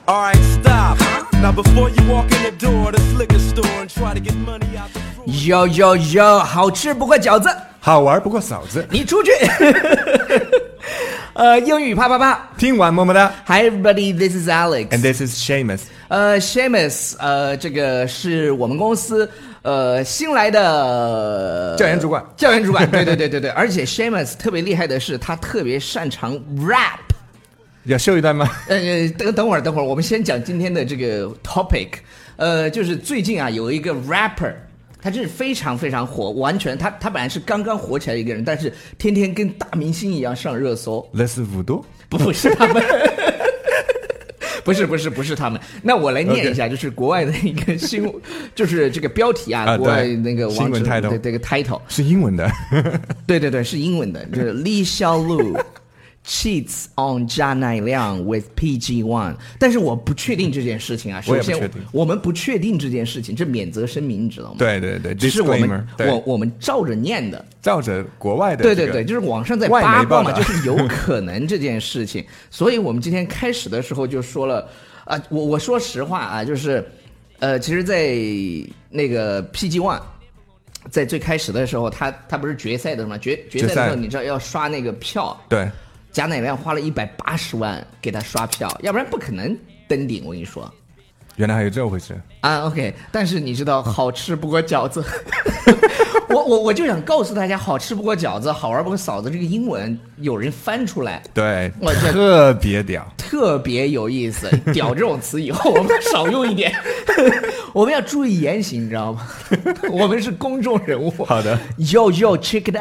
Alright, stop. Now before you walk in the door of this liquor store and try to get money out the fruit. Yo yo yo，好吃不过饺子， 好玩不过嫂子。 你出去。英语啪啪啪。 听完么么哒。 Hi everybody, this is Alex. And this is Seamus. Seamus， 这个是我们公司新来的教研主管。 对，而且 Seamus 特别厉害的是，他特别擅长 rap。 要秀一段吗？ 等会儿，我们先讲今天的这个 topic。就是最近啊，有一个 rapper， 他真是非常非常火，完全他本来是刚刚火起来的一个人，但是天天跟大明星一样上热搜。 那是五度？ 不是他们。不是他们。那我来念一下，就是国外的一个新闻，就是这个标题啊，国外那个新闻 title， 对这个 title 是英文的。 对，是英文的，就是李小璐cheats on 加乃亮 with PG1， 但是我不确定这件事情啊。首先，我们不确定这件事情，这免责声明你知道吗？ 对， 这是我们照着念的， 照着国外的。 对，就是网上在八卦嘛，就是有可能这件事情。所以我们今天开始的时候就说了啊，我说实话啊，就是其实，在那个 PG1。在最开始的时候，他不是决赛的吗？决赛的时候，你知道要刷那个票， 对， 贾乃亮花了180万给他刷票，要不然不可能登顶。我跟你说， 原来还有这回事啊。OK， 但是你知道，好吃不过饺子。我就想告诉大家，好吃不过饺子，好玩不过嫂子。这个英文有人翻出来， 对，特别屌， 特别有意思。屌这种词以后我们少用一点。我们要注意言行，你知道吗？我们是公众人物。 好的。 Yo, check it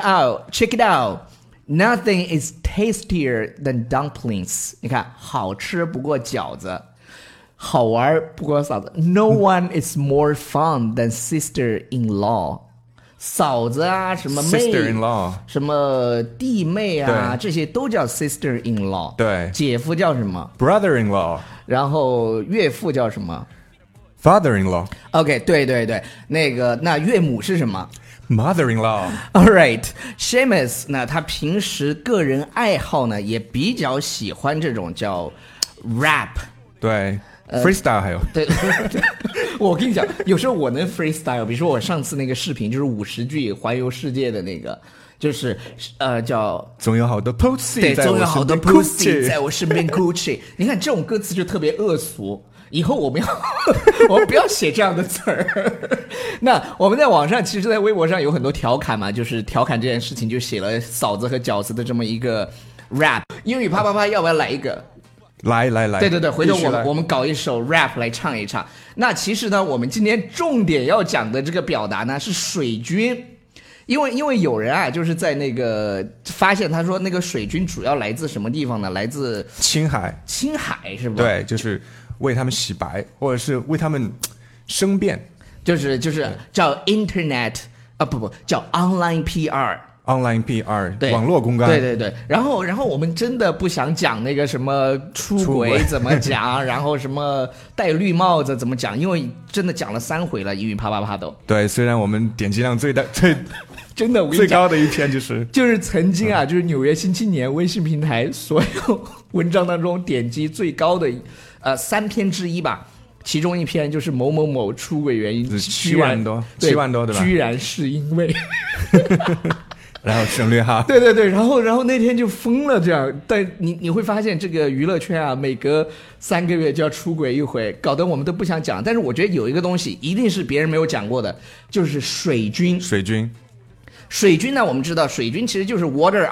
out. Nothing is tastier than dumplings. 你看，好吃不过饺子，好玩不过嫂子。No one is more fun than sister-in-law. 嫂子啊，什么妹 sister-in-law， 什么弟妹啊，这些都叫 sister-in-law。 对， 姐夫叫什么 ？brother-in-law。 然后岳父叫什么 ？father-in-law。 OK， 对，那岳母是什么 ？mother-in-law。 All right， Seamus 呢，他平时个人爱好呢也比较喜欢这种叫 rap。 对。freestyle 还有对，我跟你讲，有时候我能 freestyle， 比如说我上次那个视频就是50句环游世界的那个，就是叫总有好多 pussy， 对，总有好多 pussy 在我身边 Gucci。你看这种歌词就特别恶俗，以后我们不要写这样的词儿。那我们在网上，其实，在微博上有很多调侃嘛，就是调侃这件事情，就写了嫂子和饺子的这么一个 rap。英语啪啪啪，要不要来一个？ 来， 对，回头我们搞一首 rap 来唱一唱。那其实呢，我们今天重点要讲的这个表达呢是水军，因为有人啊，就是在那个发现他说那个水军主要来自什么地方呢？来自青海是吧？ 对，就是为他们洗白，或者是为他们申辩， 就是叫 internet 啊，不叫 online PR。online PR， 网络公关。 对，然后我们真的不想讲那个什么出轨怎么讲，然后什么戴绿帽子怎么讲，因为真的讲了3回了，英语啪啪啪都。 对，虽然我们点击量最真的我跟你讲最高的一篇就是曾经啊，就是纽约新青年微信平台所有文章当中点击最高的3篇之一吧。其中一篇就是某某某出轨原因 7万多对吧？ 居然是因为。 然后省略号。 对，然后那天就疯了这样。但你会发现这个娱乐圈啊，每隔3个月就要出轨一回，搞得我们都不想讲。但是我觉得有一个东西一定是别人没有讲过的，就是水军呢，我们知道水军其实就是 water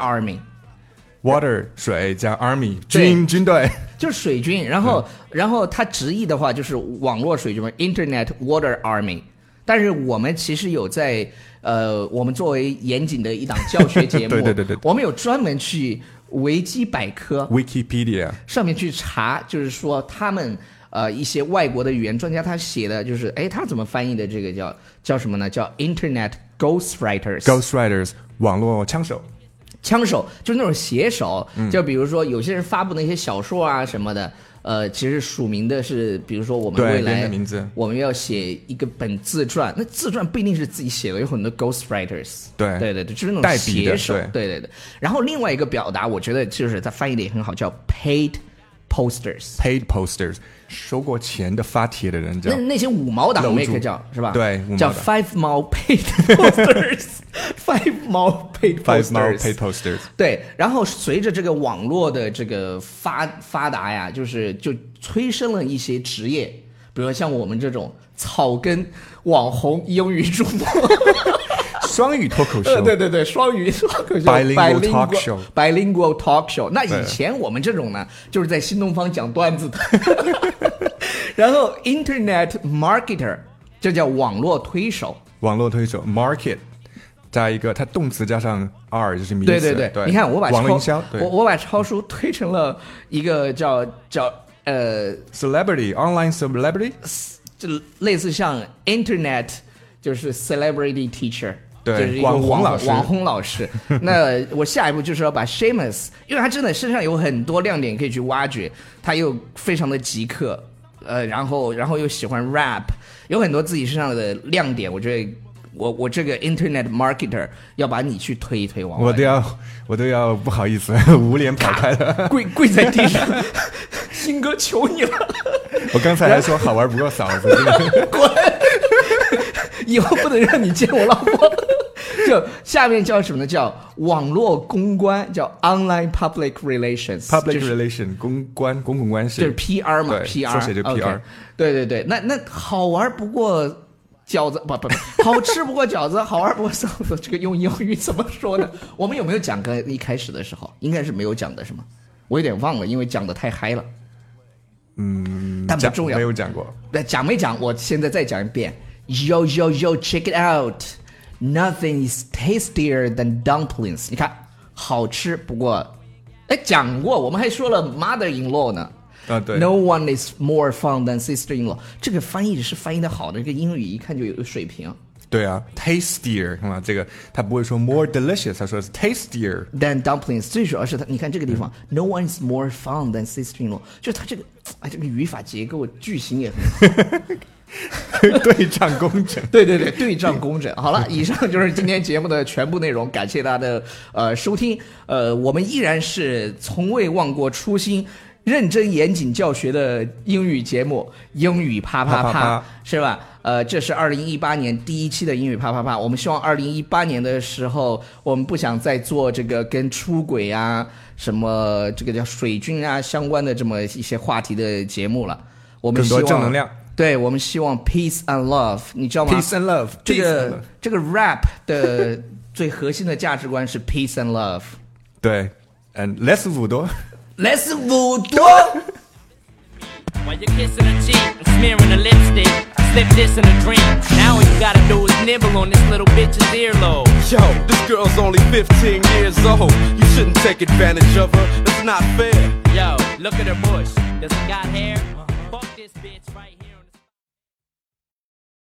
army。water 水加 army 军队， 就是水军。然后它直译的话就是网络水军嘛 ，internet water army。但是我们其实有在我们作为严谨的一档教学节目， 对， 我们有专门去维基百科 Wikipedia 上面去查，就是说他们一些外国的语言专家他写的就是他怎么翻译的这个叫什么呢？叫 Internet Ghostwriters 网络枪手就是那种写手，就比如说有些人发布的一些小说啊什么的。其实署名的是，比如说我们未来我们要写一个本自传，那自传不一定是自己写的，有很多 ghostwriters， 对，就是那种写手，对。然后另外一个表达，我觉得就是他翻译的也很好，叫 paid posters。 paid posters， 收过钱的发帖的人叫那些5毛党楼主 make 叫是吧？ 对5毛党叫5毛 paid posters，5毛 paid five mile posters。 paid posters。 对，然后随着这个网络的这个发达呀，就催生了一些职业，比如说像我们这种草根网红英语主播。 双语脱口秀， 对，双语脱口秀 Bilingual talk show bilingual talk show。那以前我们这种呢，就是在新东方讲段子的。然后 internet marketer， 这叫网络推手。 网络推手 market， 加一个它动词加上 r 就是名词。 对，你看我把网络营销， 我把超叔推成了一个叫 celebrity online celebrity， 就类似像 internet 就是 celebrity teacher。 对， 就是一个网红老师。那我下一步就是要把 Seamus， 因为他真的身上有很多亮点可以去挖掘，他又非常的极客，然后又喜欢 rap， 有很多自己身上的亮点。我觉得我这个 internet marketer 要把你去推一推往外。 我都要不好意思，捂脸跑开了， 跪在地上，鑫哥求你了。 我刚才还说好玩不够嫂子， 滚！以后不能让你见我老婆。就下面叫什么呢？叫网络公关，叫 online public relations。public relation 公共关系， 就是 PR 嘛 ，PR ，PR 缩写就 PR。 对，那好玩不过饺子，不，好吃不过饺子，好玩不过嫂子。这个用英语怎么说呢？我们有没有讲？刚一开始的时候应该是没有讲的，是吗？我有点忘了，因为讲的太嗨了。但不重要， 没有讲过。 讲没讲？我现在再讲一遍。Yo, check it out. Nothing is tastier than dumplings. 你看，好吃不过，讲过，我们还说了 mother-in-law 呢。 对。 No one is more fun than sister-in-law. 这个翻译是翻译的好的，这个英语一看就有水平。 对啊 ，tastier， 看吧，这个他不会说 more delicious， 他说是 tastier than dumplings。最主要是他，你看这个地方，No one is more fun than sister-in-law， 就是他这个，这个语法结构句型也很好。 对仗工整， 对，对仗工整。好了，以上就是今天节目的全部内容，感谢大家的收听。我们依然是从未忘过初心，认真严谨教学的英语节目，英语啪啪啪，是吧？这是2018年第1期的英语啪啪啪。我们希望2018年的时候，我们不想再做这个跟出轨啊、什么这个叫水军啊相关的这么一些话题的节目了。我们希望更多正能量。 对，我们希望 peace and love， 你知道吗 ？peace and love， 这个 rap 的最核心的价值观是 peace and love。 对 ，and less 五多 ，less 五多。 While you're kissing her cheek and smearing her lipstick, slip this in a dream. Now all you gotta do is nibble on this little bitch's earlobe. Yo, this girl's only 15 years old. You shouldn't take advantage of her. That's not fair. Yo, look at her bush. Does it got hair? Fuck this bitch right here.